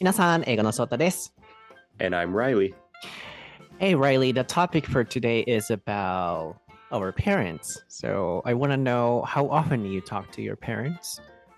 皆さん、英語の翔太です。 And I'm Riley. Hey, Riley, the topic for today is about our parents. So I want to know how often you talk to your parents.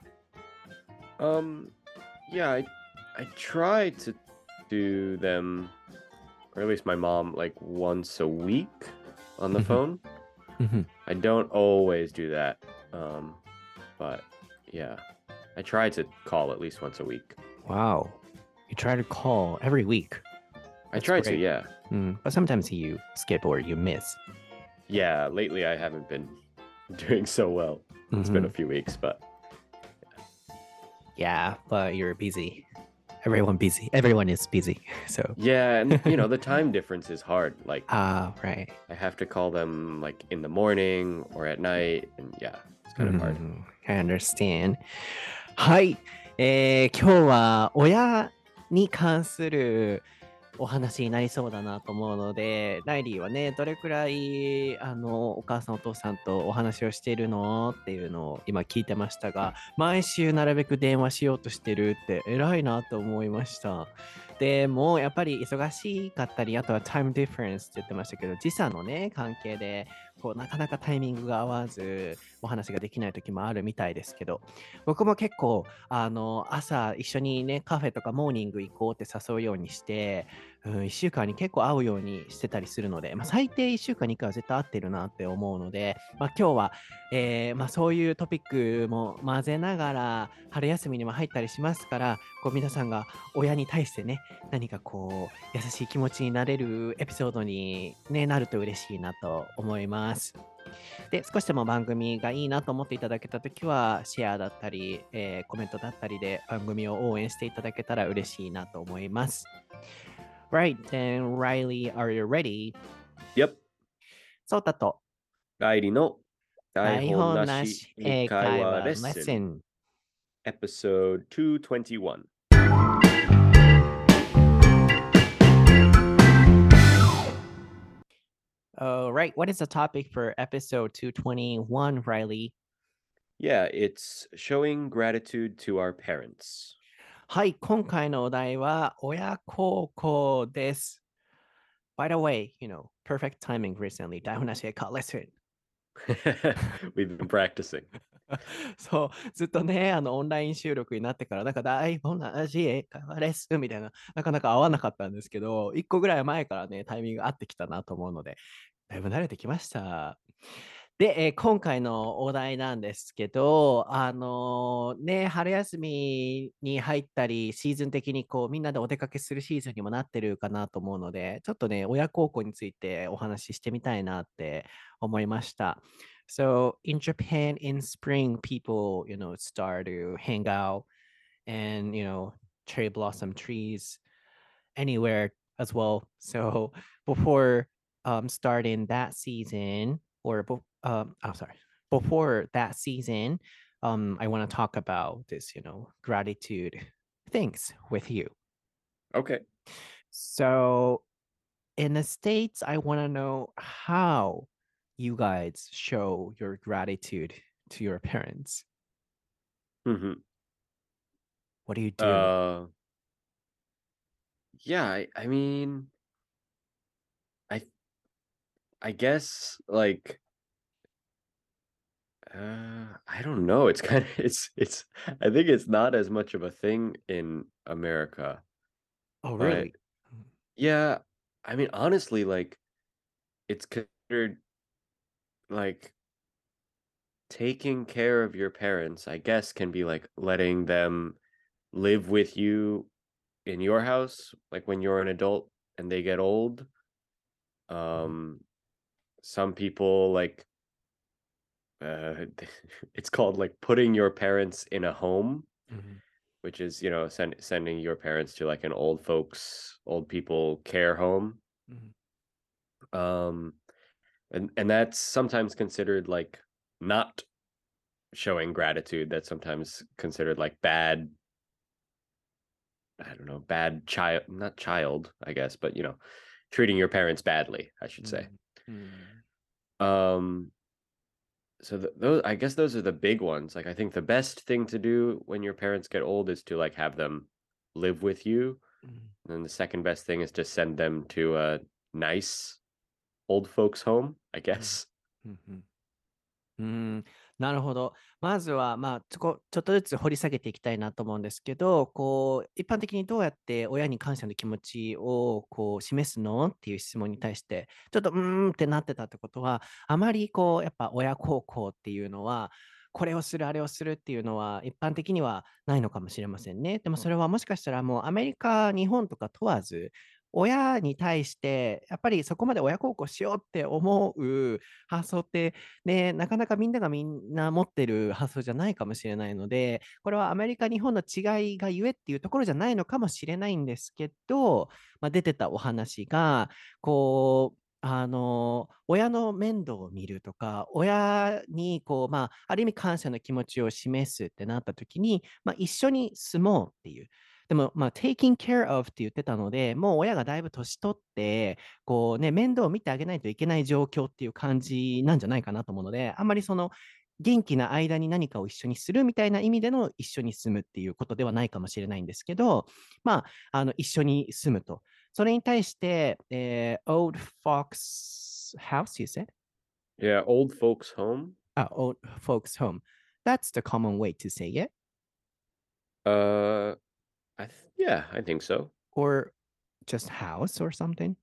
Um, yeah, I try to do them, or at least my mom, like once a week on the phone. I don't always do that. But yeah, I try to call at least once a week. Wow. You try to call every week. I That's try to, great. yeah. But sometimes you skip or you miss. Yeah, lately I haven't been doing so well. It's been a few weeks, but Yeah, but you're busy. Everyone busy. Everyone is busy. So yeah, and the time difference is hard. Like right. I have to call them like in the morning or at night, and yeah, it's kind of hard. I understand. はい、今日は親に関するお話になりそうだなと思うので、ライリーはね、どれくらいお母さんお父さんとお話をしているのっていうのを今聞いてましたが、毎週なるべく電話しようとしてるって偉いなと思いました。でもやっぱり忙しかったり、あとはタイムディフェレンスって言ってましたけど、時差のね、関係でこうなかなかタイミングが合わずお話ができない時もあるみたいですけど、僕も結構朝一緒にねカフェとかモーニング行こうって誘うようにして、1週間に結構会うようにしてたりするので、最低1週間に1回は絶対会ってるなって思うので、今日は、そういうトピックも混ぜながら春休みにも入ったりしますから、こう皆さんが親に対してね、何かこう優しい気持ちになれるエピソードに、ね、なると嬉しいなと思います。で、少しでも番組がいいなと思っていただけたときは、シェアだったり、コメントだったりで番組を応援していただけたら嬉しいなと思います。Right, then Riley, are you ready? Yep. そうだとライリの台台本な本なしし英英会話会話レッレッスンスン。 Episode 221. Right, what is the topic for episode 221, Riley? Yeah, it's showing gratitude to our parents. はい、今回のお題は親孝行です。By the way, perfect timing recently. 台本なし英会話レッスン。 We've been practicing. そう、ずっとね、オンライン収録になってから、なんか台本なし英会話レッスンみたいな、なかなか合わなかったんですけど、1個ぐらい前からね、タイミング合ってきたなと思うので、だいぶ慣れてきました。で、今回のお題なんですけど、ね、春休みに入ったり、シーズン的にこう、みんなでお出かけするシーズンにもなってるかなと思うので、ちょっとね、親孝行についてお話ししてみたいなって思いました。So in Japan, in spring, people, start to hang out and, cherry blossom trees anywhere as well. So before starting that season, or sorry, before that season, I want to talk about this, gratitude things with you. Okay. So in the States, I want to know how you guys show your gratitude to your parents. Mm-hmm. What do you do? Yeah, I mean, I I guess like I don't know. It's kind of it's I think it's not as much of a thing in America. Oh, But really? yeah, I mean honestly like it's considered like taking care of your parents, I guess, can be like letting them live with you in your house, like when you're an adult and they get old. Um, some people like it's called like putting your parents in a home, Mhm. which is sending your parents to like an old people care home. Mhm. Um, and that's sometimes considered like not showing gratitude. That's sometimes considered like bad. I don't know, bad child, not child, I guess, but treating your parents badly, I should say. Mhm. Mhm. Um, so those, I guess those are the big ones. Like I think the best thing to do when your parents get old is to like have them live with you. うん And then the second best thing is to send them to a nice old folks home, I うん guess. うんうんうーん、なるほど。まずは、まあ、ちょっとずつ掘り下げていきたいなと思うんですけど、こう、一般的にどうやって親に感謝の気持ちをこう示すのっていう質問に対して、ちょっとってなってたってことは、あまりこう、やっぱ親孝行っていうのは、これをする、あれをするっていうのは、一般的にはないのかもしれませんね。でもそれはもしかしたらもうアメリカ、日本とか問わず、親に対して、やっぱりそこまで親孝行しようって思う発想ってで、なかなかみんな持ってる発想じゃないかもしれないので、これはアメリカ、日本の違いがゆえっていうところじゃないのかもしれないんですけど、まあ、出てたお話が、こう、親の面倒を見るとか、親に、こう、まあ、ある意味感謝の気持ちを示すってなった時に、まあ、一緒に住もうっていう。でも、まあ、taking care of って言ってたので、もう親がだいぶ年取って、こうね、面倒を見てあげないといけない状況っていう感じなんじゃないかなと思うので、あんまりその、元気な間に何かを一緒にするみたいな意味での一緒に住むっていうことではないかもしれないんですけど、まあ、一緒に住むと。それに対して、old fox house, you said? Yeah, old folks home. Old folks home. That's the common way to say it. Uh, yeah, I think so. Or just house or something.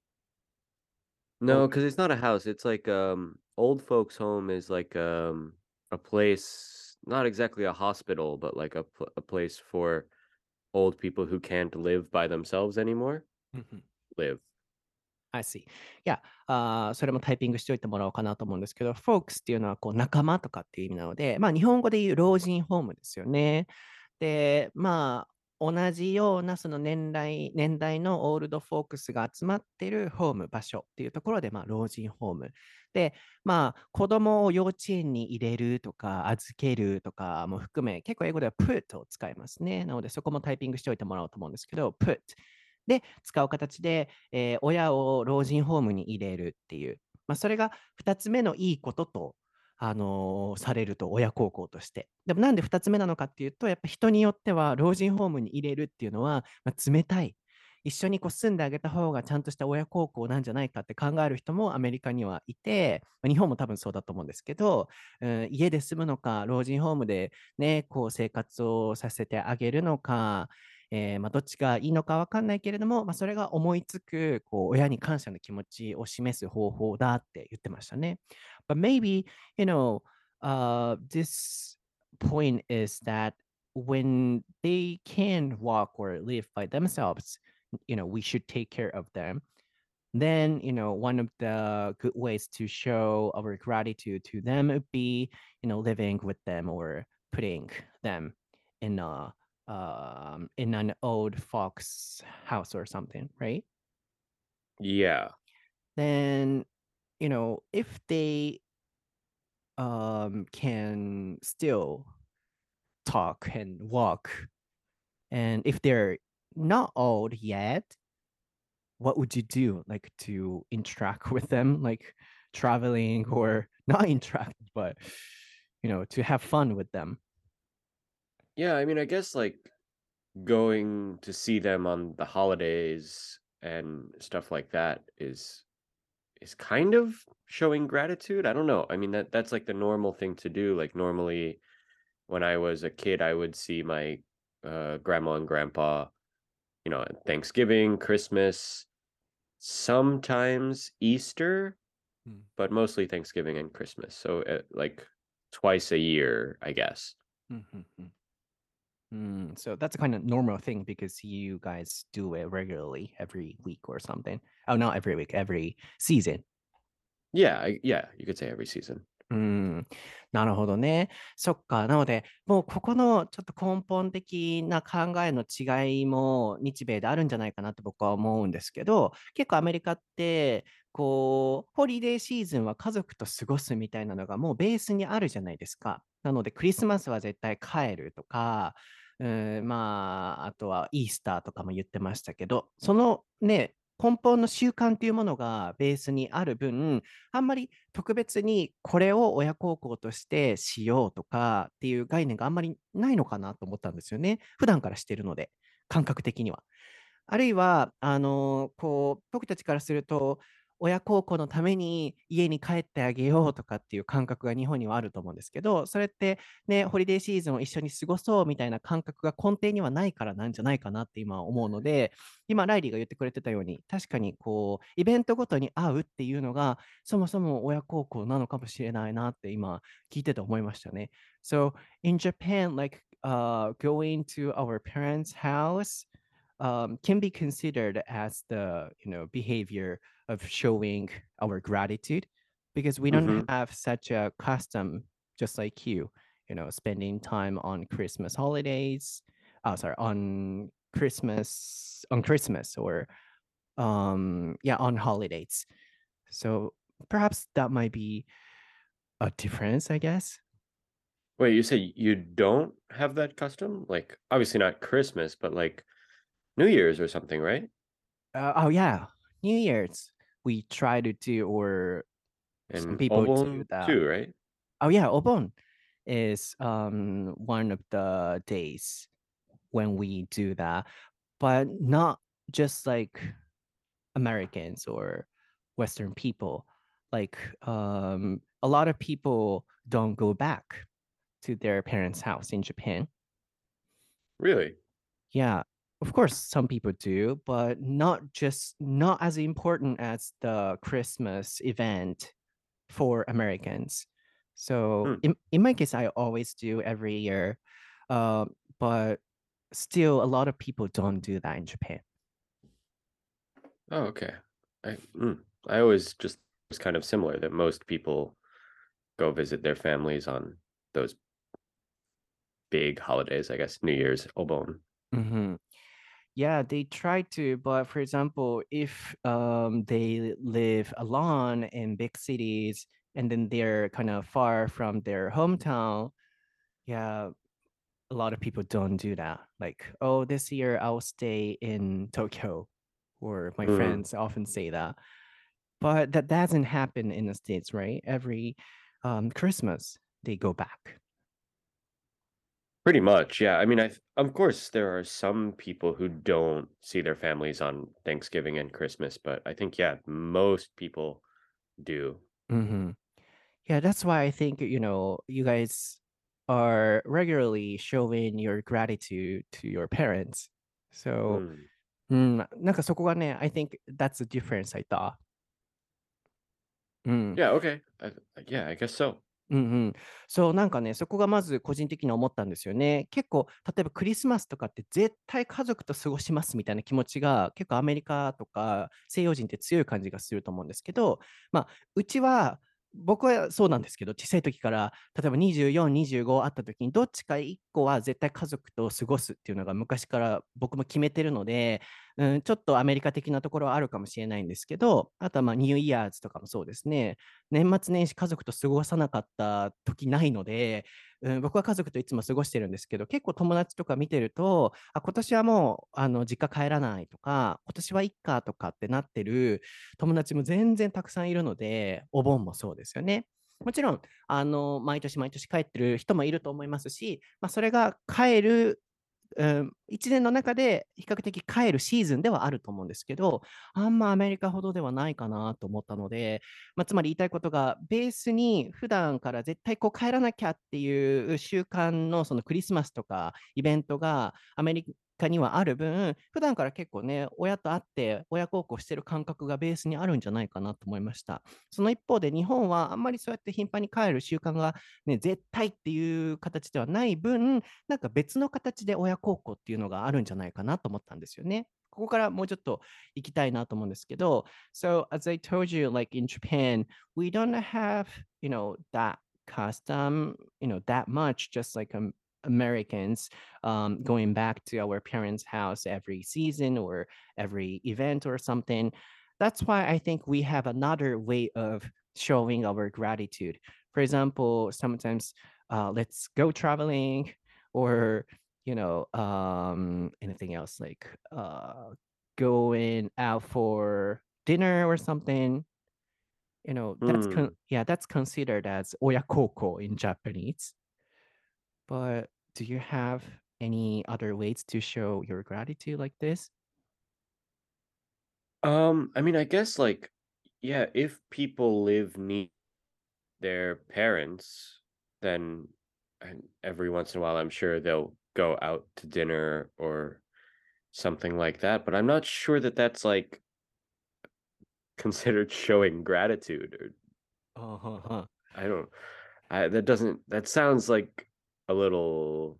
No, Old, because it's not a house. It's like old folks home is like a place, not exactly a hospital, but like a place for old people who can't live by themselves anymore. Live. I see. いや、それもタイピングしておいてもらおうかなと思うんですけど、folks っていうのはこう仲間とかっていう意味なので、まあ日本語で言う老人ホームですよね。で、まあ同じようなその年代のオールドフォークスが集まっているホーム、場所っていうところで、まあ老人ホーム。で、まあ子供を幼稚園に入れるとか預けるとかも含め、結構英語では put を使いますね。なのでそこもタイピングしておいてもらおうと思うんですけど、put。で、使う形で、親を老人ホームに入れるっていう、まあ、それが2つ目のいいことと、されると、親孝行として。でもなんで2つ目なのかっていうと、やっぱ人によっては老人ホームに入れるっていうのは、まあ、冷たい。一緒にこう住んであげた方がちゃんとした親孝行なんじゃないかって考える人もアメリカにはいて、まあ日本も多分そうだと思うんですけど、家で住むのか、老人ホームでね、こう生活をさせてあげるのか、まあ、どっちがいいのかわかんないけれども、まあ、それが思いつく、こう、親に感謝の気持ちを示す方法だって言ってましたね。But maybe, you know, this point is that when they can walk or live by themselves, we should take care of them. Then, one of the good ways to show our gratitude to them would be, living with them or putting them in in an old fox house or something, right? Yeah. Then, if they can still talk and walk, and if they're not old yet, what would you do like to interact with them, like traveling or not interact, but to have fun with them? Yeah, I mean, I guess like going to see them on the holidays and stuff like that is kind of showing gratitude. I don't know. I mean that's like the normal thing to do. Like normally when I was a kid, I would see my grandma and grandpa, at Thanksgiving, Christmas, sometimes Easter, Mm. but mostly Thanksgiving and Christmas. So like twice a year, I guess. Mhm. So that's a kind of normal thing because you guys do it regularly every week or something. Oh, not every week, every season. Yeah, yeah, you could say every season. うん、なるほどね。そっか。なので、もうここのちょっと根本的な考えの違いも日米であるんじゃないかなと僕は思うんですけど、結構アメリカって、こう、ホリデーシーズンは家族と過ごすみたいなのがもうベースにあるじゃないですか。なので、クリスマスは絶対帰るとか、まあ、あとはイースターとかも言ってましたけど、そのね、根本の習慣というものがベースにある分、あんまり特別にこれを親孝行としてしようとかっていう概念があんまりないのかなと思ったんですよね。普段からしてるので。 感覚的には。あるいは、僕たちからすると、親孝行のために家に帰ってあげようとかっていう感覚が日本にはあると思うんですけど、それってね、ホリデーシーズンを一緒に過ごそうみたいな感覚が根底にはないからなんじゃないかなって今思うので、今、ライリーが言ってくれてたように、確かにイベントごとに会うっていうのが、そもそも親孝行なのかもしれないなって今、聞いてて思いましたね。So, in Japan, going to our parents' house, can be considered as the behavior of showing our gratitude because we don't Mm-hmm. have such a custom just like spending time on Christmas holidays, sorry, on Christmas or on holidays. So perhaps that might be a difference, I guess. Wait, you say you don't have that custom? Like, obviously not Christmas, but like New Year's or something, right? Oh yeah, New Year's we try to do, or some And people do Obon that. too, right? Oh yeah, Obon is one of the days when we do that, but not just like Americans or Western people. Like a lot of people don't go back to their parents' house in Japan. Really? Yeah, of course, some people do, but not as important as the Christmas event for Americans. So Hmm. in my case, I always do every year, uh, but still, a lot of people don't do that in Japan. Oh, okay. I always just was kind of similar that most people go visit their families on those big holidays, I guess, New Year's, Obon. Mhm. Yeah, they try to, but for example, if they live alone in big cities and then they're kind of far from their hometown, yeah, a lot of people don't do that. Like, oh, this year I'll stay in Tokyo, or my Mm. friends often say that. But that doesn't happen in the States, right? Every Christmas, they go back. Pretty much, yeah. I mean, of course there are some people who don't see their families on Thanksgiving and Christmas, but I think yeah, most people do. Hmm. Yeah, that's why I think, you guys are regularly showing your gratitude to your parents. So, Mm. なんかそこがね、I think that's the difference I thought. うん。 Yeah, okay. Yeah, I guess so. うんうん。そう、なんかね、そこがまず個人的に思ったんですよね。結構、例えばクリスマスとかって絶対家族と過ごしますみたいな気持ちが結構アメリカとか西洋人って強い感じがすると思うんですけど、まあ、うちは、僕はそうなんですけど、小さい時から、例えば24、25あった時に、どっちか1個は絶対家族と過ごすっていうのが昔から僕も決めてるので、ちょっとアメリカ的なところはあるかもしれないんですけど、あとはまあニューイヤーズとかもそうですね。年末年始家族と過ごさなかった時ないので、僕は家族といつも過ごしてるんですけど、結構友達とか見てると、今年はもう実家帰らないとか、今年はいっかとかってなってる友達も全然たくさんいるので、お盆もそうですよね。もちろん、毎年毎年帰ってる人もいると思いますし、それが帰る1年の中で比較的帰るシーズンではあると思うんですけど、あんまアメリカほどではないかなと思ったので、つまり言いたいことが、ベースに普段から絶対帰らなきゃっていう習慣のそのクリスマスとかイベントがアメリカにはある分、普段から結構ね、親と会って親孝行してる感覚がベースにあるんじゃないかなと思いました。その一方で日本はあんまりそうやって頻繁に帰る習慣がね、絶対っていう形ではない分、なんか別の形で親孝行っていうのがあるんじゃないかなと思ったんですよね。ここからもうちょっと行きたいなと思うんですけど、So as I told you, like in Japan, we don't have, that custom, that much, just like Americans going back to our parents' house every season or every event or something. That's why I think we have another way of showing our gratitude. For example, sometimes let's go traveling or anything else like going out for dinner or something. Hmm. That's considered as oyakoko in Japanese. But do you have any other ways to show your gratitude like this? I mean, I guess like, yeah, if people live near their parents, then every once in a while, I'm sure they'll go out to dinner or something like that. But I'm not sure that that's like considered showing gratitude. Or Uh-huh. I don't. That doesn't. That sounds like a little.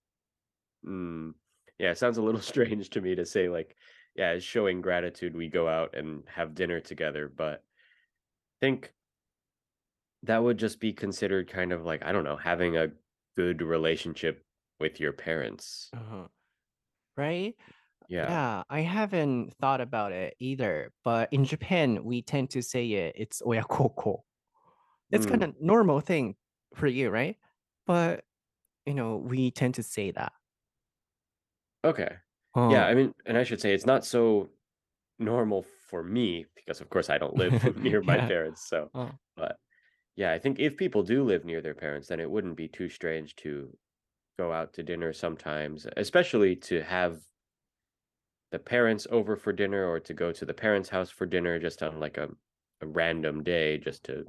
Mm, yeah, it sounds a little strange to me to say like, yeah, it's showing gratitude. We go out and have dinner together, but I think that would just be considered kind of like, I don't know, having a good relationship with your parents. Uh-huh. Right? Yeah. Yeah, I haven't thought about it either. But in Japan, we tend to say it's oyakoko. It's kind Mm, of normal thing for you, right? But we tend to say that. okay. Yeah, Huh. I mean, and I should say it's not so normal for me because of course I don't live near my Yeah. parents, so Uh, but yeah, I think if people do live near their parents, then it wouldn't be too strange to go out to dinner sometimes, especially to have the parents over for dinner or to go to the parents' house for dinner just on like a random day just to,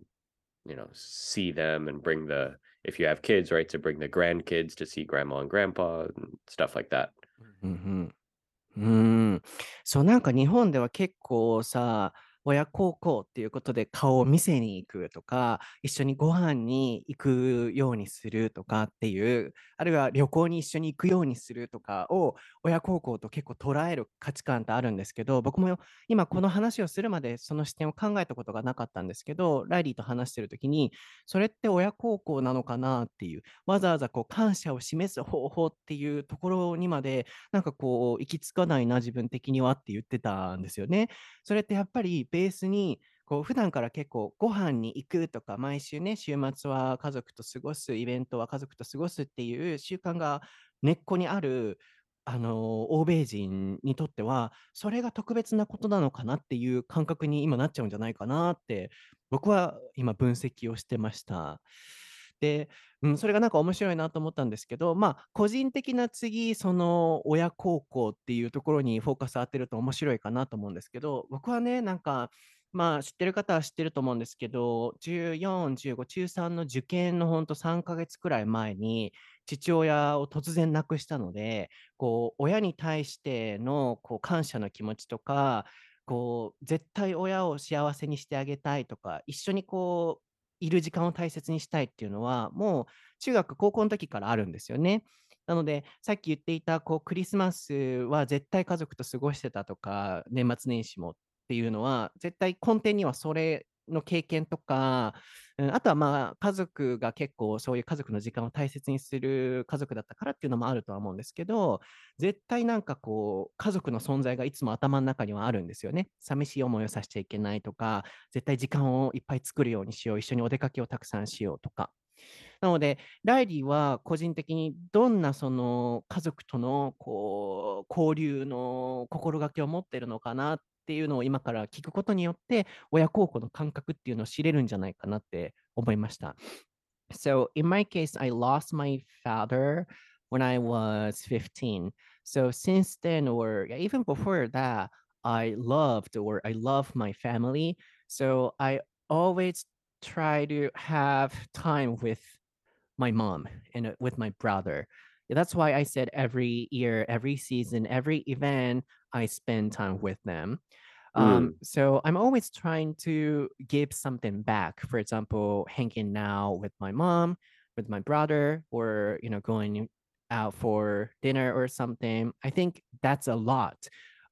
see them and bring the if you have kids, right, to bring the grandkids to see grandma and grandpa and stuff like that. うんうんうーん。そう、なんか日本では結構さ、親孝行っていうことで顔を見せに行くとか、一緒にご飯に行くようにするとかっていう、あるいは旅行に一緒に行くようにするとかを親孝行と結構捉える価値観ってあるんですけど、僕も今この話をするまでその視点を考えたことがなかったんですけど、ライリーと話してる時に、それって親孝行なのかなっていう、わざわざこう感謝を示す方法っていうところにまでなんかこう、行き着かないな、自分的にはって言ってたんですよね。それってやっぱりベースに、こう普段から結構ご飯に行くとか、毎週ね、週末は家族と過ごす、イベントは家族と過ごすっていう習慣が根っこにある、欧米人にとっては、それが特別なことなのかなっていう感覚に今なっちゃうんじゃないかなって、僕は今分析をしてました。で、それがなんか面白いなと思ったんですけど、まあ、個人的な次、その親孝行っていうところにフォーカス当てると面白いかなと思うんですけど、僕はね、なんか、まあ、知ってる方は知ってると思うんですけど、14、15、中3の受験のほんと3ヶ月くらい前に、父親を突然亡くしたので、こう、親に対してのこう感謝の気持ちとか、こう、絶対親を幸せにしてあげたいとか、一緒にこう、いる時間を大切にしたいっていうのは、もう中学、高校の時からあるんですよね。なので、さっき言っていた、こう、クリスマスは絶対家族と過ごしてたとか、年末年始もっていうのは、絶対根底にはそれの経験とか、あとはまあ、家族が結構そういう家族の時間を大切にする家族だったからっていうのもあるとは思うんですけど、絶対なんかこう、家族の存在がいつも頭の中にはあるんですよね。寂しい思いをさせちゃいけないとか、絶対時間をいっぱい作るようにしよう、一緒にお出かけをたくさんしようとか。なので、ライリーは個人的にどんなその家族とのこう交流の心がけを持っているのかなっていうのを今から聞くことによって、親孝行の感覚っていうのを知れるんじゃないかなって思いました。So in my case, I lost my father when I was 15. So since then, or yeah, even before that, I love my family. So I always try to have time with my mom and with my brother. That's why I said every year, every season, every event, I spend time with them. Mm, So I'm always trying to give something back. For example, hanging out with my mom, with my brother, or going out for dinner or something. I think that's a lot.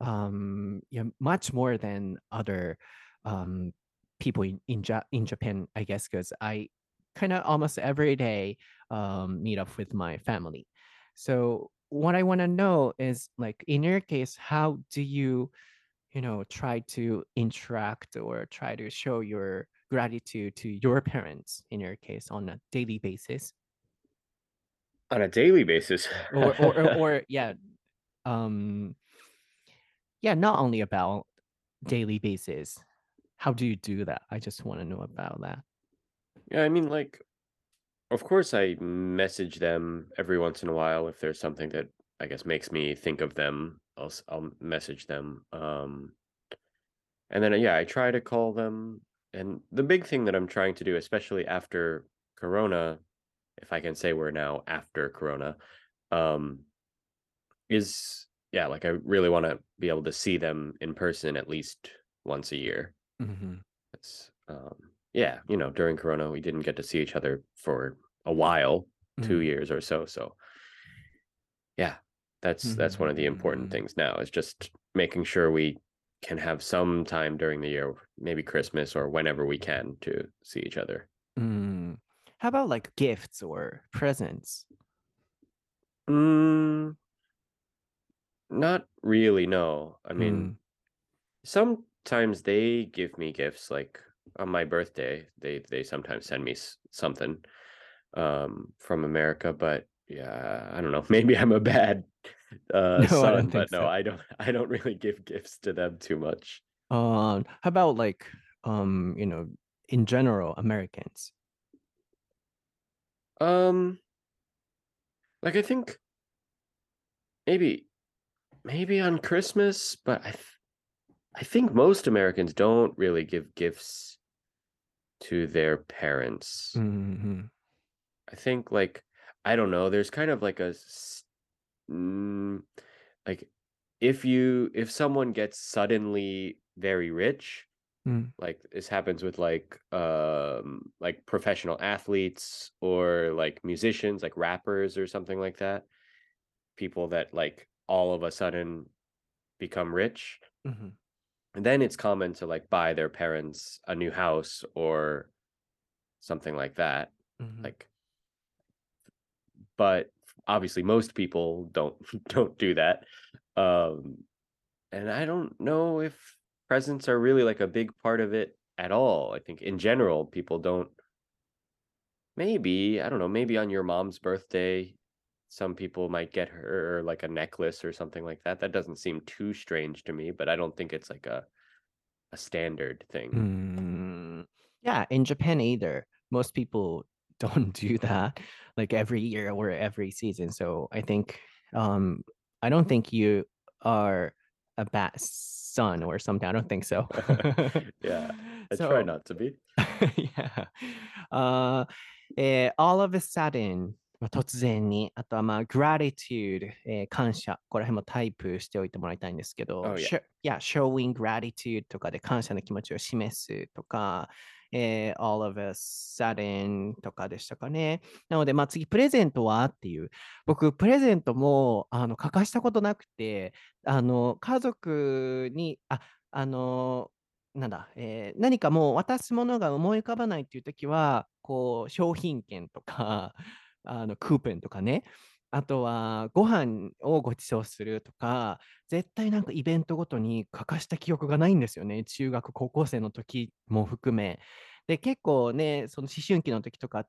Much more than other um, people in Japan, I guess, because I kind of almost every day meet up with my family. So what I want to know is like in your case, how do you try to interact or try to show your gratitude to your parents in your case on a daily basis on a daily basis. or yeah um yeah not only about daily basis. How do you do that? I just want to know about that. Yeah, I mean, like, of course, I message them every once in a while if there's something that I guess makes me think of them. I'll message them. And then yeah, I try to call them. And the big thing that I'm trying to do, especially after Corona, if I can say we're now after Corona, um, is yeah, like I really want to be able to see them in person at least once a year. Mhm. It's yeah, during Corona we didn't get to see each other for a while, Mm. 2 years or so. So yeah, that's one of the important Mm. things now is just making sure we can have some time during the year, maybe Christmas or whenever we can to see each other. Mm. How about like gifts or presents? Mm, not really, no. I mean, Mm. sometimes they give me gifts like on my birthday, they sometimes send me something from America, but yeah, I don't know. Maybe I'm a bad No, I don't son, think but no, so. I don't really give gifts to them too much. How about like you know, in general, Americans? Um, like I think maybe maybe on Christmas, but I think most Americans don't really give gifts to their parents. Mhm. I think like I don't know, there's kind of like like if someone gets suddenly very rich, Mm. like this happens with like professional athletes or like musicians, like rappers or something like that, people that like all of a sudden become rich, Mhm. and then it's common to like buy their parents a new house or something like that, Mhm. like, but obviously most people don't don't do that. um and I don't know if presents are really like a big part of it at all. I think in general people don't. Maybe, I don't know, maybe on your mom's birthday, some people might get her like a necklace or something like that. That doesn't seem too strange to me, but I don't think it's like a standard thing. Mm. Yeah, in Japan either. Most people don't do that like every year or every season. So I think um I don't think you are a bad son or something. I don't think so. Yeah, I try So not to be. yeah. all of a sudden、突然に、あとはgratitude、感謝、ここら辺もタイプしておいてもらいたいんですけど、 Oh yeah. yeah, showing gratitude とかで感謝の気持ちを示すとか、all of a sudden とかでしたかね。なので、次、プレゼントはっていう。僕、プレゼントも、書かしたことなくて、家族に、なんだ、何かもう渡すものが思い浮かばないっていう時は、こう、商品券とか、クーペンとかね、あとはご飯をご馳走するとか、絶対なんかイベントごとに欠かした記憶がないんですよね。中学、高校生の時も含め。で、結構ね、その思春期の時とかって、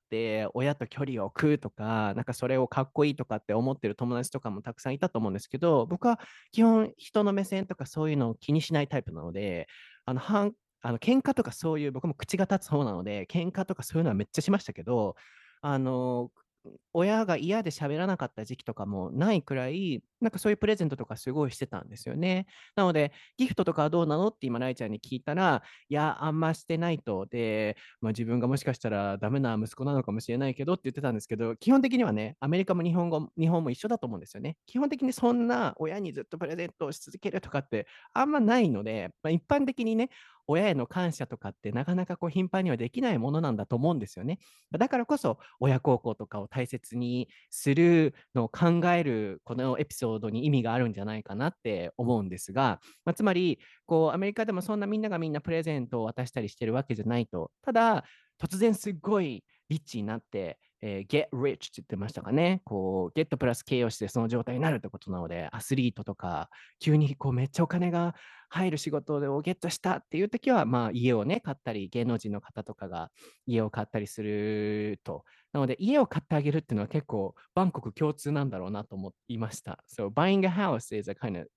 親と距離を置くとか、なんかそれをかっこいいとかって思ってる友達とかもたくさんいたと思うんですけど、僕は基本人の目線とかそういうのを気にしないタイプなので、あの、はん、喧嘩とかそういう、僕も口が立つ方なので、喧嘩とかそういうのはめっちゃしましたけど、あの、親が嫌で喋らなかった時期とかもないくらい、なんかそういうプレゼントとかすごいしてたんですよね。なので、ギフトとかはどうなのって今、ライちゃんに聞いたら、いや、あんましてないと。で、自分がもしかしたらダメな息子なのかもしれないけどって言ってたんですけど、基本的にはね、アメリカも日本も一緒だと思うんですよね。基本的にそんな親にずっとプレゼントをし続けるとかってあんまないので、一般的にね、親への感謝とかってなかなかこう頻繁にはできないものなんだと思うんですよね。だからこそ親孝行とかを大切にするのを考えるこのエピソードに意味があるんじゃないかなって思うんですが、つまりこうアメリカでもそんなみんながみんなプレゼントを渡したりしてるわけじゃないと。ただ突然すっごいリッチになって、get rich って言ってましたかね。こう、get プラス形容詞でその状態になるってことなので、アスリートとか、急にこうめっちゃお金が入る仕事をゲットしたっていう時は、家をね、買ったり、芸能人の方とかが家を買ったりすると。なので、家を買ってあげるっていうのは結構、バンコク共通なんだろうなと思いました。So, buying a house is a kind of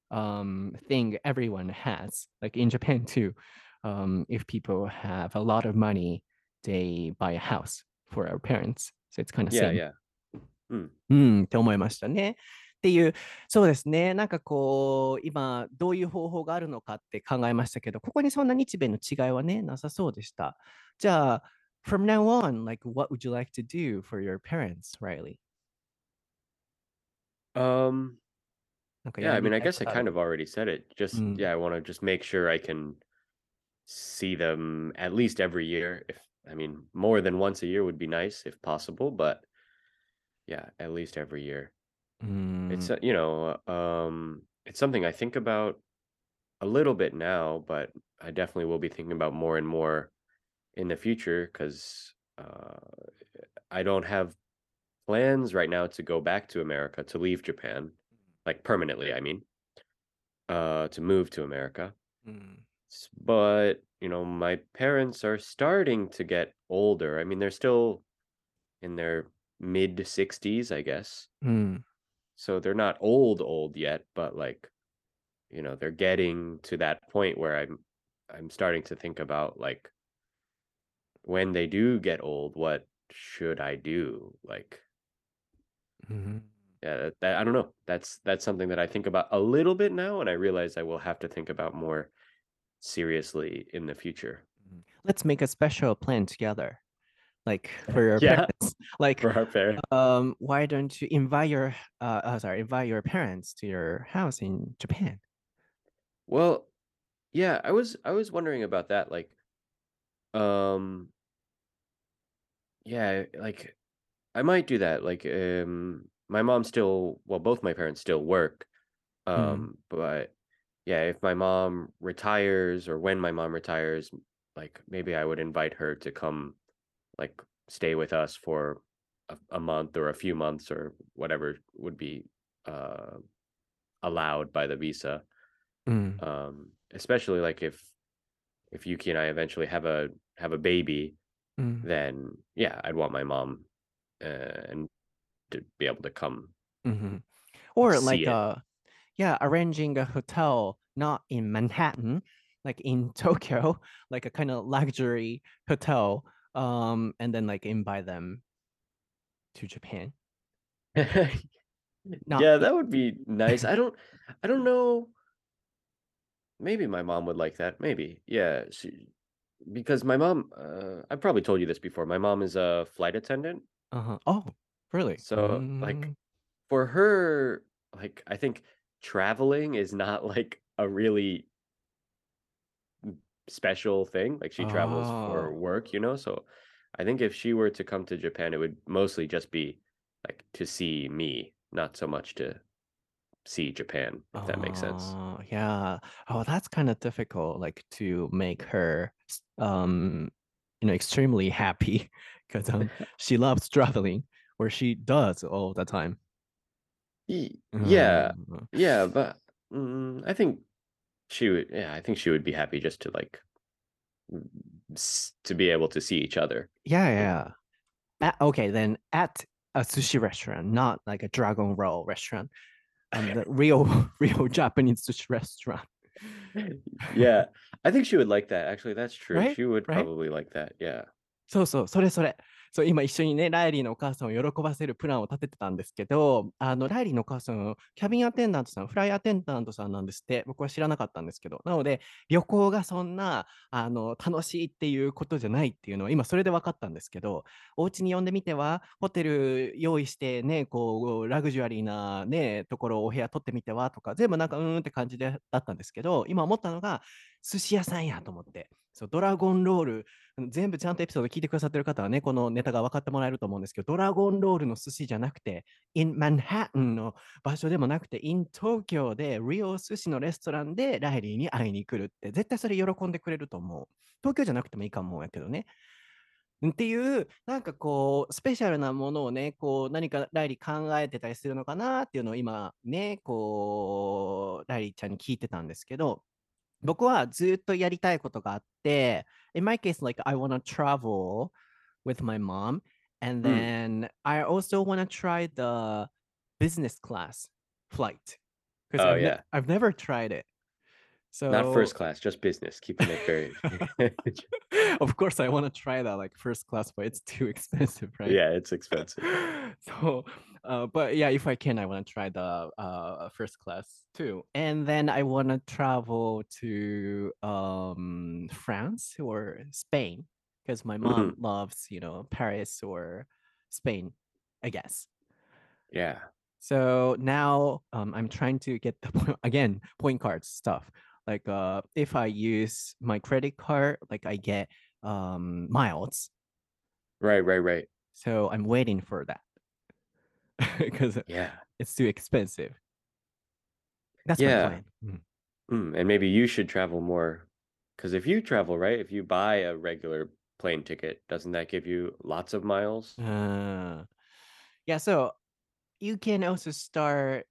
thing everyone has, like in Japan too. If people have a lot of money, they buy a house for our parents. So it's kind of Yeah, same. yeah. Mm. って思いましたね。っていう、そうですね。なんかこう、今、どういう方法があるのかって考えましたけど、ここにそんな日米の違いはね、なさそうでした。じゃあ、from now on, like, what would you like to do for your parents, Riley? Um, なんかや yeah, I り mean, I たい guess こ I とある？ kind of already said it. う Just, ん。 yeah, I want to just make sure I can see them at least every year. If, I mean, more than once a year would be nice if possible, but yeah, at least every year. う It's, ん。 it's something I think about a little bit now, but I definitely will be thinking about more and more in the future because I don't have plans right now to go back to America, to leave Japan, like permanently, I mean, to move to America. うん。 But, my parents are starting to get older. I mean, they're still in their mid 60s, I guess. うん。 So they're not old old yet, but like, they're getting to that point where I'm starting to think about like when they do get old, what should I do? Like, うん。 yeah, I don't know. That's something that I think about a little bit now, and I realize I will have to think about more seriously in the future. Let's make a special plan together, like for your Yeah, parents. Like, for our parents. why don't you invite your invite your parents to your house in Japan? Well, yeah, I was wondering about that. Like, um, yeah, like I might do that. Like, my mom still, well, both my parents still work. うん。 But yeah, if my mom retires or when my mom retires, like maybe I would invite her to come, like stay with us for a month or a few months or whatever would be uh allowed by the visa. うん。 Especially like if Yuki and I eventually have a baby, うん。 then yeah, I'd want my mom and to be able to come Mhm. Or see like it. yeah, arranging a hotel not in Manhattan, like in Tokyo, like a kind of luxury hotel, and then like invite them to Japan. Not Yeah, that would be nice. I don't know. Maybe my mom would like that. Maybe. Yeah, because my mom, I probably told you this before. My mom is a flight attendant. uh-huh. Oh, really? So, like, for her, like, I think traveling is not like a really special thing. Like, she travels for Oh. work. So, I think if she were to come to Japan, it would mostly just be like to see me, not so much to see Japan, if that makes sense. Oh, yeah. Oh, that's kind of difficult, like to make her, extremely happy because she loves traveling, or she does all the time. Yeah, Mm. yeah, but I think she would. Yeah, I think she would be happy just to like to be able to see each other. Yeah, You yeah. Okay, then at a sushi restaurant, not like a Dragon Roll restaurant, the real, real Japanese sushi restaurant, know? Yeah, I think she would like that. Actually, that's true. right? She would Right? probably like that. Yeah. そうそう、それそれ。そう、今一緒にね、ライリーのお母さんを喜ばせるプランを立ててたんですけど、ライリーのお母さん、キャビンアテンダントさん、フライアテンダントさんなんですって、僕は知らなかったんですけど、なので、旅行がそんな、楽しいっていうことじゃないっていうのは、今それで分かったんですけど、お家に呼んでみては、ホテル用意してね、こう、ラグジュアリーなね、ところをお部屋取ってみてはとか、全部なんか、って感じでだったんですけど、今思ったのが、寿司屋さんやと思って、そう、ドラゴンロール、全部ちゃんとエピソード聞いてくださってる方はね、このネタが分かってもらえると思うんですけど、ドラゴンロールの寿司じゃなくて、in Manhattan の場所でもなくて、in 東京で、リオ寿司のレストランでライリーに会いに来るって、絶対それ喜んでくれると思う。東京じゃなくてもいいかもやけどね。っていう、なんかこう、スペシャルなものをね、こう、何かライリー考えてたりするのかなっていうのを今ね、こう、ライリーちゃんに聞いてたんですけど、僕はずっとやりたいことがあって、in my case, like I want to travel with my mom, and Mm. then I also want to try the business class flight because Oh yeah. I've never tried it. Not So first class, just business. Keeping it very. Of course, I want to try that like first class, but it's too expensive, right? Yeah, it's expensive. So, but yeah, if I can, I want to try the first class too. And then I want to travel to France or Spain because my mom Mhm. loves, Paris or Spain, I guess. Yeah. So now I'm trying to get the again point cards stuff. Like if I use my credit card, like I get miles. Right, right, right. So I'm waiting for that because Yeah. it's too expensive. That's my Yeah. plan. Mm. And maybe you should travel more. Because if you travel, right, if you buy a regular plane ticket, doesn't that give you lots of miles? Yeah, so you can also start,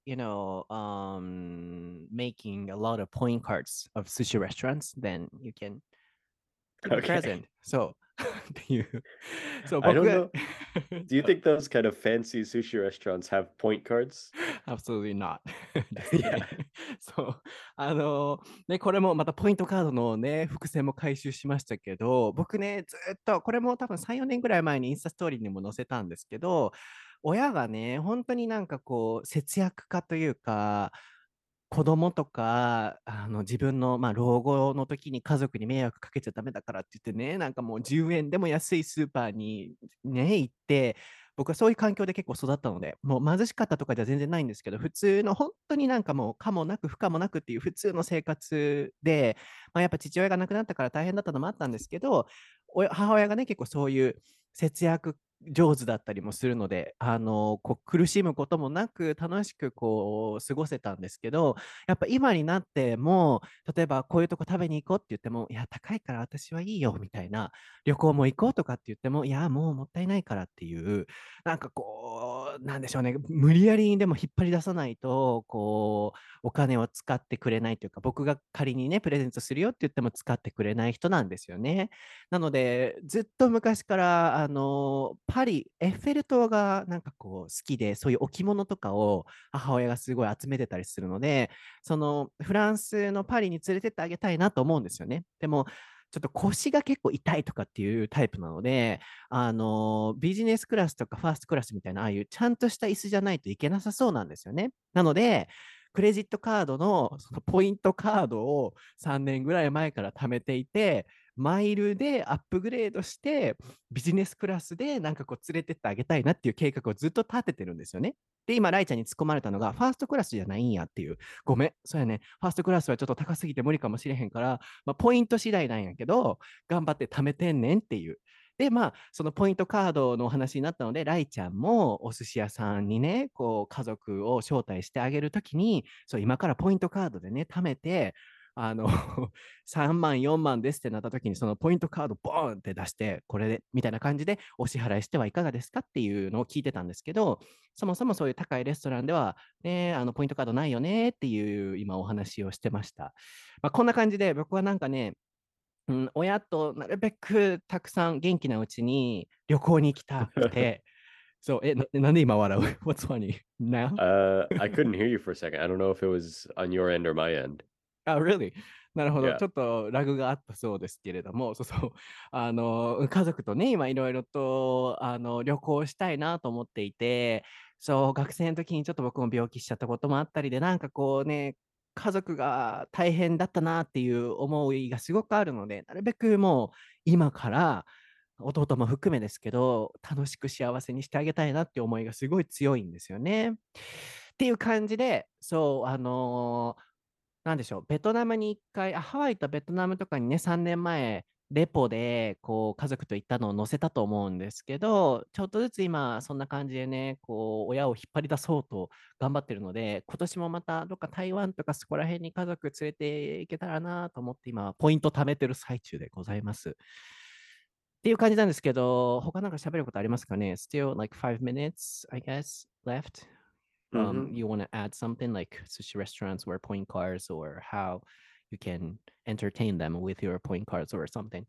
making a lot of point cards of sushi restaurants. Then you can give a Okay. present. So, っていう。そう、 I 僕 don't が know. Do you think those kind of fancy sushi restaurants have point cards? Absolutely not. Just kidding. Yeah. そう。ね、これもまたポイントカードのね、伏線も回収しましたけど、僕ね、ずっと、これも多分3、4年ぐらい前にインスタストーリーにも載せたんですけど、親がね、本当になんかこう、節約家というか、子供とか、自分の、老後の時に家族に迷惑かけちゃダメだからって言ってね、なんかもう10円でも安いスーパーにね、行って、僕はそういう環境で結構育ったので、もう貧しかったとかじゃ全然ないんですけど、普通の本当になんかもう可もなく不可もなくっていう普通の生活で、やっぱ父親が亡くなったから大変だったのもあったんですけど、母親がね、結構そういう節約上手だったりもするので、こう苦しむこともなく楽しくこう過ごせたんですけど、やっぱ今になっても、例えばこういうとこ食べに行こうって言っても、いや、高いから私はいいよみたいな、旅行も行こうとかって言っても、いや、もうもったいないからっていう、なんかこう、なんでしょうね、無理やりにでも引っ張り出さないと、こう、お金を使ってくれないというか、僕が仮にね、プレゼントするよって言っても使ってくれない人なんですよね。なので、ずっと昔から、パリ、エッフェル塔がなんかこう好きで、そういう置物とかを母親がすごい集めてたりするので、そのフランスのパリに連れてってあげたいなと思うんですよね。でも、ちょっと腰が結構痛いとかっていうタイプなので、ビジネスクラスとかファーストクラスみたいな、ああいうちゃんとした椅子じゃないといけなさそうなんですよね。なので、クレジットカードのそのポイントカードを3年ぐらい前から貯めていて、マイルでアップグレードして、ビジネスクラスでなんかこう連れてってあげたいなっていう計画をずっと立ててるんですよね。で、今、ライちゃんに突っ込まれたのが、ファーストクラスじゃないんやっていう。ごめん、そうやね。ファーストクラスはちょっと高すぎて無理かもしれへんから、ポイント次第なんやけど、頑張って貯めてんねんっていう。で、そのポイントカードのお話になったので、ライちゃんもお寿司屋さんにね、こう、家族を招待してあげるときに、そう、今からポイントカードでね、貯めて、3万、4万ですってなった時に、そのポイントカードボーンって出して、これで、みたいな感じでお支払いしてはいかがですかっていうのを聞いてたんですけど、そもそもそういう高いレストランでは、ね、ポイントカードないよねっていう今お話をしてました。こんな感じで僕はなんかね、親となるべくたくさん元気なうちに旅行に行きたくて、そう、なんで今笑う？ What's funny now? I couldn't hear you for a second. I don't know if it was on your end or my end. あ、really? なるほど。 Yeah. ちょっとラグがあったそうですけれども、そうそう。家族とね、今いろいろと、旅行したいなと思っていて、そう、学生の時にちょっと僕も病気しちゃったこともあったりで、なんかこうね、家族が大変だったなっていう思いがすごくあるので、なるべくもう今から弟も含めですけど、楽しく幸せにしてあげたいなって思いがすごい強いんですよね。っていう感じで、そう、なんでしょう、ベトナムに一回、ハワイとベトナムとかにね、3年前、レポで、こう、家族と行ったのを載せたと思うんですけど、ちょっとずつ今、そんな感じでね、こう、親を引っ張り出そうと頑張ってるので、今年もまた、どっか台湾とかそこら辺に家族連れて行けたらなと思って、今、ポイント貯めてる最中でございます。っていう感じなんですけど、他なんか喋ることありますかね？ Still like 5 minutes, I guess, left. Hmm. You want to add something like sushi restaurants or point cards or how you can entertain them with your point cards or something.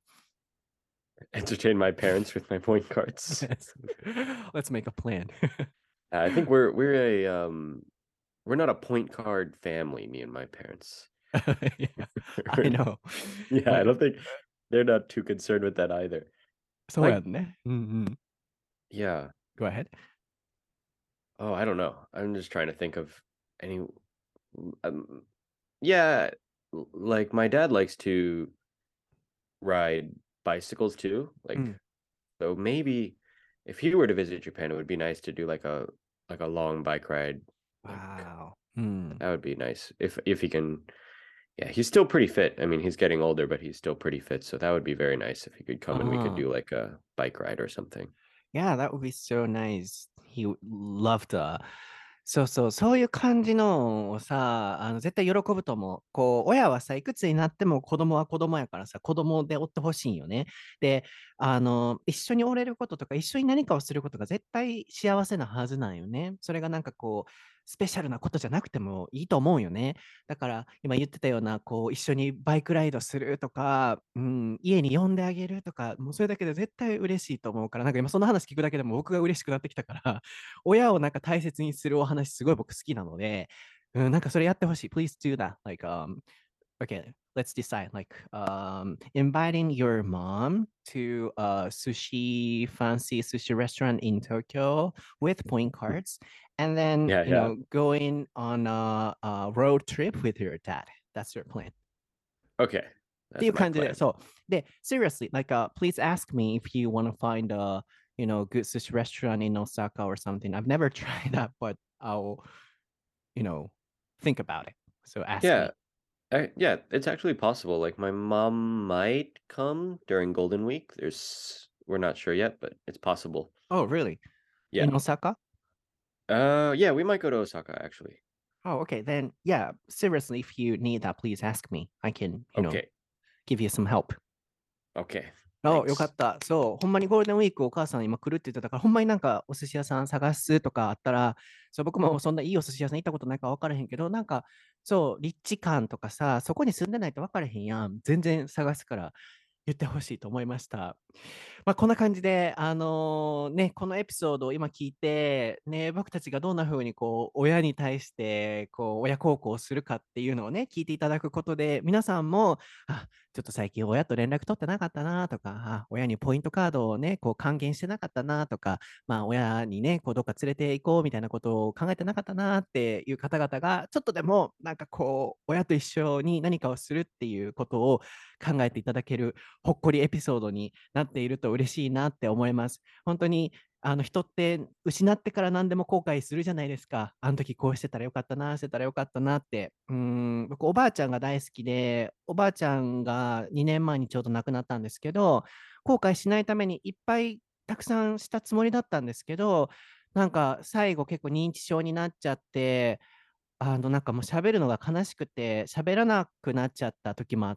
Entertain my parents with my point cards. Yes. Let's make a plan. I think we're not a point card family, me and my parents. Yeah, I know. Yeah, I Like, don't think they're not too concerned with that either. そうやんね。うんうん。 Yeah. Go ahead. Oh, I don't know. I'm just trying to think of any. Um, yeah, like my dad likes to ride bicycles too. う Like, ん。 so maybe if he were to visit Japan, it would be nice to do like a long bike ride. Like Wow. うん。 that would be nice if he can. Yeah, he's still pretty fit. I mean, he's getting older, but he's still pretty fit. So that would be very nice if he could come and we could ああ。 do like a bike ride or something. Yeah, that would be so nice. He would love to. そうそう、そういう感じのをさ、絶対喜ぶと思う。こう、親はさ、いくつになっても子供は子供やからさ、子供でおってほしいんよね。で、一緒におれることとか、一緒に何かをすることが絶対幸せなはずなんよね。それがなんかこう、スペシャルなことじゃなくてもいいと思うよね。だから、今言ってたような、こう、一緒にバイクライドするとか、うん、家に呼んであげるとか、もうそれだけで絶対嬉しいと思うから、なんか今その話聞くだけでも僕が嬉しくなってきたから、親をなんか大切にするお話すごい僕好きなので、うん、なんかそれやってほしい。Please do that. Like, okay, let's decide. Like, inviting your mom to a fancy sushi restaurant in Tokyo with point cards, and then, Yeah, yeah. going on a road trip with your dad. That's your plan. Okay. ってい That's う my 感じで、 plan. そう。で、seriously, like, please ask me if you want to find a, good sushi restaurant in Osaka or something. I've never tried that, but I'll, you know, think about it. So ask Yeah. me. Yeah, it's actually possible. Like my mom might come during Golden Week. We're not sure yet, but it's possible. Oh, really? Yeah. In Osaka? Yeah, we might go to Osaka actually. Oh, okay. Then, yeah, seriously, if you need that, please ask me. I can, Okay. give you some help. Okay. よか Thanks. った。そう、ほんまにゴールデンウィークお母さん今来るって言ってたから、ほんまになんかお寿司屋さん探すとかあったら、そう、僕もそんないいお寿司屋さん行ったことないから分からへんけど、なんか、そう、立地感とかさ、そこに住んでないと分からへんやん。全然探すから言ってほしいと思いました。まあ、こんな感じで、このエピソードを今聞いて、ね、僕たちがどんな風にこう、親に対して、こう、親孝行をするかっていうのをね、聞いていただくことで、皆さんも、ちょっと最近親と連絡取ってなかったなとか、親にポイントカードをね、こう還元してなかったなとか、まあ、親にね、こうどっか連れて行こうみたいなことを考えてなかったなっていう方々が、ちょっとでも、なんかこう、親と一緒に何かをするっていうことを考えていただける、ほっこりエピソードになっていると嬉しいなって思います。本当に人って失ってから何でも後悔するじゃないですか。あの時こうしてたらよかったな、してたらよかったなって。僕、おばあちゃんが大好きで、おばあちゃんが2年前にちょうど亡くなったんですけど、後悔しないためにいっぱいたくさんしたつもりだったんですけど、なんか最後結構認知症になっちゃって、なんかもう喋るのが悲しくて、喋らなくなっちゃった時もあって、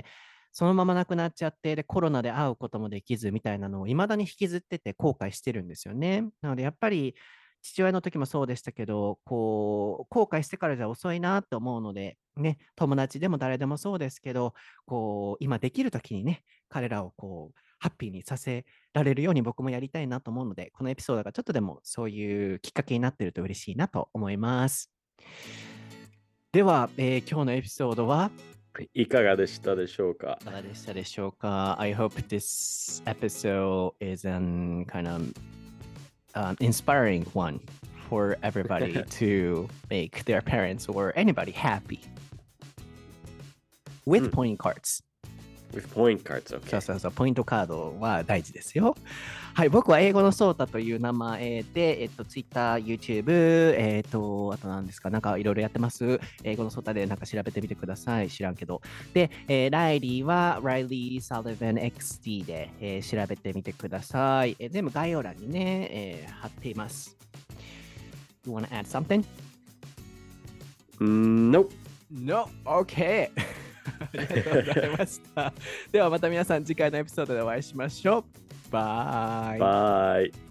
そのまま亡くなっちゃって、で、コロナで会うこともできずみたいなのを未だに引きずってて後悔してるんですよね。なので、やっぱり父親の時もそうでしたけど、こう、後悔してからじゃ遅いなって思うので、ね、友達でも誰でもそうですけど、こう、今できる時にね、彼らをこう、ハッピーにさせられるように僕もやりたいなと思うので、このエピソードがちょっとでもそういうきっかけになっていると嬉しいなと思います。では、今日のエピソードはいかがでしたでしょうか？ いかがでしたでしょうか？ I hope this episode is an kind of inspiring one for everybody to make their parents or anybody happy with pointing cards. With point cards, そう okay. そうそう、ポイントカードは大事ですよ。はい、僕は英語のソータという名前で、Twitter、YouTube、あと何ですか、なんかいろいろやってます。英語のソータでなんか調べてみてください。知らんけど。で、ライリーは Riley Sullivan XD で、調べてみてください。全部概要欄にね、貼っています。You wanna add something? Nope. No, okay. ありがとうございました。ではまた皆さん次回のエピソードでお会いしましょう。バイ。 Bye.